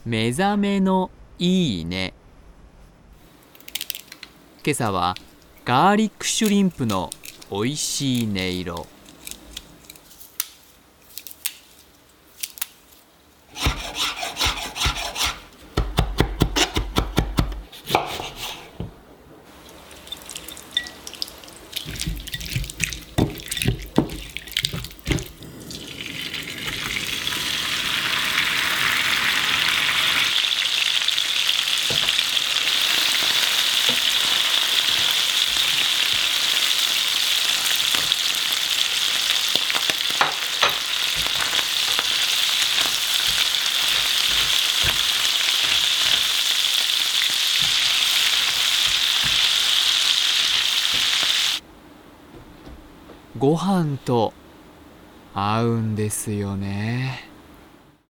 目覚めのいいね。今朝はガーリックシュリンプのおいしい音色。ご飯と合うんですよね。